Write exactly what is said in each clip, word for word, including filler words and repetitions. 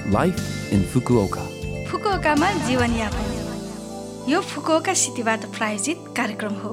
Life in Fukuoka. फुकुओकामा जीवनयापन यो Fukuoka सिटीबाट प्रायोजित कार्यक्रम हो।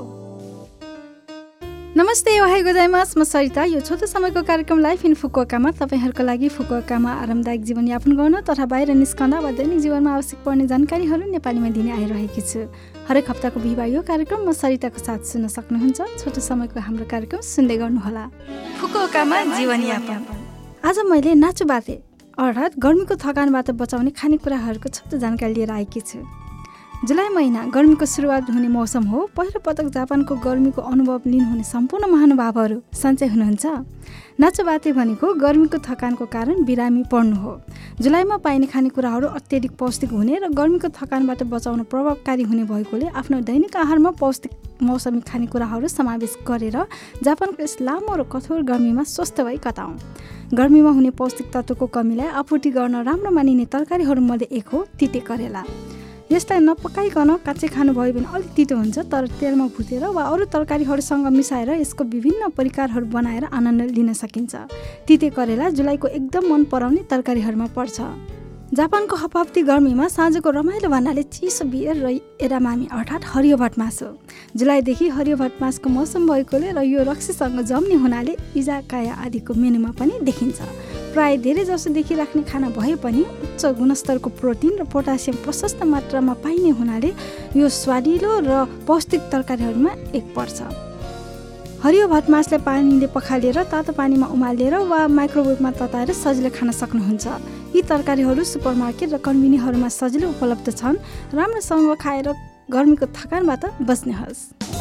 नमस्ते, ओहाई गोजाइमास, म सरिता। यो छोटो समयको कार्यक्रम लाइफ इन फुकुओकामा तपाईहरुको लागि फुकुओकामा आरामदायक जीवनयापन गर्न तथा बाहिर निस्कँदा वा दैनिक जीवनमा आवश्यक पर्ने जानकारीहरू नेपालीमा दिने आइरहेकी छु। हरेक हप्ताको बिहिबार यो कार्यक्रम म सरिताको साथ सुन्न सक्नुहुन्छ। छोटो समयको हाम्रो कार्यक्रम सुन्दै गर्नुहोला। फुकुओकामा जीवनयापन। आज मैले नाचु बाते अर्थात् गर्मीको थकानबाट बचाउने खानेकुराहरूको छोटो जानकारी लिएर आएकी छु। जुलाई महिना गर्मीको सुरुवात हुने मौसम हो। पहिलो पटक जापानको गर्मीको अनुभव लिनुहुने सम्पूर्ण महानुभावहरू सन्चै हुनुहुन्छ। नाचुबाते भनेको गर्मीको थकानको कारण बिरामी पर्नु हो। जुलाईमा पाइने खानेकुराहरू अत्यधिक पौष्टिक हुने र गर्मीको थकानबाट बचाउन प्रभावकारी हुने भएकोले आफ्नो दैनिक आहारमा पौष्टिक मौसमी खानेकुराहरू समावेश गरेर जापानको यस लामो र कठोर गर्मीमा स्वस्थ भई कटाउँ। गर्मीमा हुने पौष्टिक तत्त्वको कमीलाई आपूर्ति गर्न राम्रो मानिने तरकारीहरूमध्ये एक हो तिते करेला। यसलाई नपकाइकन काँचै खानुभयो भने अलिक तितो हुन्छ, तर तेलमा भुटेर वा अरू तरकारीहरूसँग मिसाएर यसको विभिन्न परिकारहरू बनाएर आनन्द लिन सकिन्छ। तिते करेला जुलाईको एकदम मन पराउने तरकारीहरूमा पर्छ। जापानको हपाप्ती गर्मीमा साँझको रमाइलो भन्नाले चिसो बियर र एरामामी अर्थात् हरियो भटमास हो। जुलाईदेखि हरियो भटमासको मौसम भएकोले र यो रक्सीसँग जम्ने हुनाले इजाकाया आदिको मेनुमा पनि देखिन्छ। प्राय धेरै जसो देखिराख्ने खाना भए पनि उच्च गुणस्तरको प्रोटिन र पोटासियम प्रशस्त मात्रामा पाइने हुनाले यो स्वादिलो र पौष्टिक तरकारीहरूमा एक पर्छ। हरियो भटमासलाई पानीले पखालेर तातो पानीमा उमालेर वा माइक्रोवेभमा तताएर सजिलै खान सक्नुहुन्छ। यी तरकारीहरू सुपरमार्केट र कन्भिनीहरूमा सजिलै उपलब्ध छन्। राम्रोसँग खाएर गर्मीको थकानबाट बच्नुहोस्।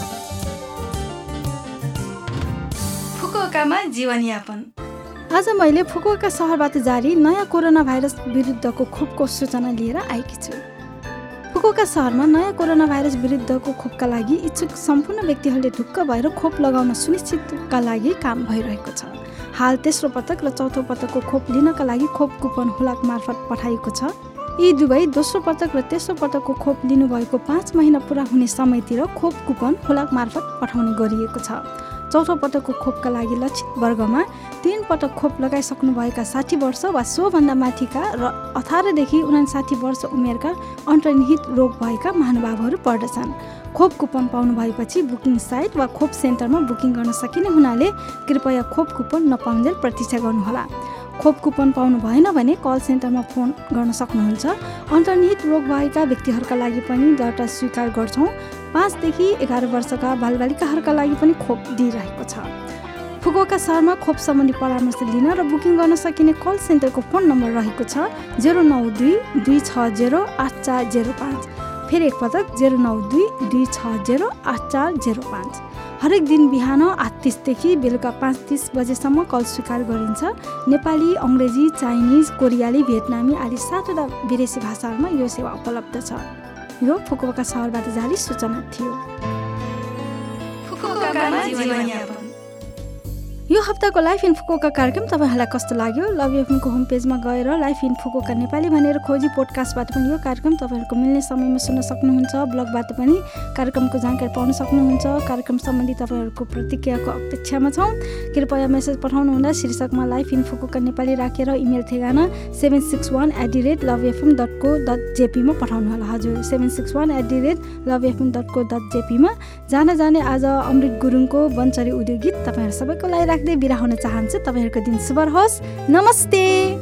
फुकुओकामा जीवनयापन। आज मैले फुकुओका सहरबाट जारी नयाँ कोरोना भाइरस विरुद्धको खोपको सूचना लिएर आएकी छु। फुकुओका सहरमा नयाँ कोरोना भाइरस विरुद्धको खोपका लागि इच्छुक सम्पूर्ण व्यक्तिहरूले ढुक्क भएर खोप लगाउन सुनिश्चितका लागि काम भइरहेको छ। हाल तेस्रो पटक र चौथो पटकको खोप लिनका लागि खोप कुपन हुलाक मार्फत पठाइएको छ। यी दुवै दोस्रो पटक र तेस्रो पटकको खोप लिनुभएको पाँच महिना पुरा हुने समयतिर खोप कुपन हुलाक मार्फत पठाउने गरिएको छ। चौथो पटकको खोपका लागि लक्षित वर्गमा तीन पटक खोप लगाइसक्नुभएका साठी वर्ष वा सोभन्दा माथिका र अठारदेखि उनासाठी वर्ष उमेरका अन्तर्निहित रोग भएका महानुभावहरू पर्दछन्। खोप कुपन पाउनु भएपछि बुकिङ साइट वा खोप सेन्टरमा बुकिङ गर्न सकिने हुनाले कृपया खोप कुपन नपाउन्जेल प्रतीक्षा गर्नुहोला। खोप कुपन पाउनु भएन भने कल सेन्टरमा फोन गर्न सक्नुहुन्छ। अन्तर्निहित रोग भएका व्यक्तिहरूका लागि पनि दर्ता स्वीकार गर्छौँ। पाँचदेखि एघार वर्षका बालबालिकाहरूका लागि पनि खोप दिइरहेको छ। फुकुओका सहरमा खोप सम्बन्धी परामर्श लिन र बुकिङ गर्न सकिने कल सेन्टरको फोन नम्बर रहेको छ जेरो नौ दुई दुई छ जेरो आठ चार जेरो पाँच। फेरि एकपटक जेरो नौ दुई दुई छ जेरो आठ चार जेरो पाँच। हरेक दिन बिहान आठ तिसदेखि बेलुका पाँच तिस बजेसम्म कल स्वीकार गरिन्छ। नेपाली, अङ्ग्रेजी, चाइनिज, कोरियाली, भियतनामी आदि सातवटा विदेशी भाषाहरूमा यो सेवा उपलब्ध छ। यो फुकुओका सहरबाट जारी सूचना थियो। फुकुओकामा जीवनयापन। यो हप्ताको लाइफ इन फुकुओका कार्यक्रम तपाईँहरूलाई कस्तो लाग्यो? लभ एफएमको होम पेजमा गएर लाइफ इन फुकुओका नेपाली भनेर खोजी पोडकास्टबाट पनि यो कार्यक्रम तपाईँहरूको मिल्ने समयमा सुन्न सक्नुहुन्छ। ब्लगबाट पनि कार्यक्रमको जानकारी पाउन सक्नुहुन्छ। कार्यक्रम सम्बन्धी तपाईँहरूको प्रतिक्रियाको अपेक्षामा छौँ। कृपया मेसेज पठाउनुहुँदा शीर्षकमा लाइफ इन फुकुओका नेपाली राखेर इमेल ठेगाना seven six one at the rate love FM dot को डट जेपीमा पठाउनुहोला। हजुर, seven six one at the rate love FM dot को डट जेपीमा। जान जाने आज अमृत गुरुङको वनचरी उद्योग गीत तपाईँहरू सबैको लागि राख्दै बिदा हुन चाहन्छु। तपाईँहरूको दिन शुभ रहोस्। नमस्ते।